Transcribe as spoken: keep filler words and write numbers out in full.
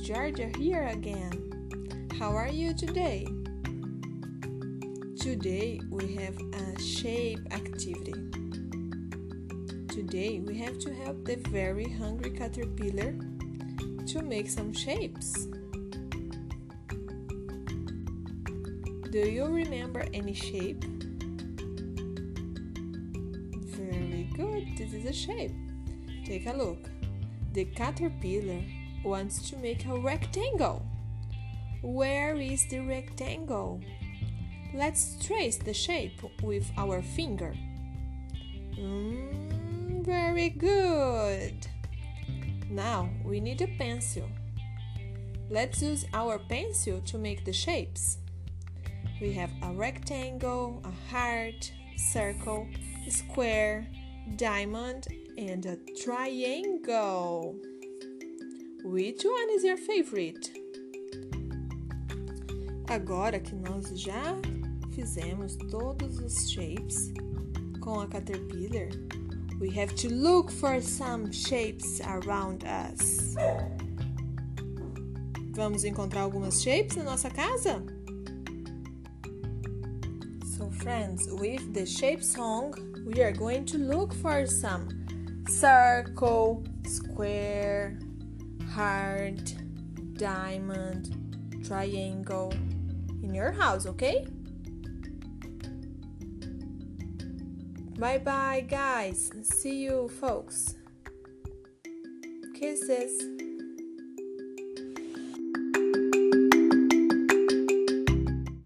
Georgia here again. How are you today? Today we have a shape activity. Today we have to help the very hungry caterpillar to make some shapes. Do you remember any shape? Very good, this is a shape. Take a look. The caterpillar wants to make a rectangle. Where is the rectangle? Let's trace the shape with our finger. Mm, very good. Now we need a pencil. Let's use our pencil to make the shapes. We have a rectangle, a heart, circle, square, diamond, and a triangle. Which one is your favorite? Agora que nós já fizemos todos os shapes com a caterpillar, we have to look for some shapes around us. Vamos encontrar algumas shapes na nossa casa? So friends, with the shape song, we are going to look for some circle, square, heart, diamond, triangle in your house, okay? Bye bye guys. See you folks. Kisses.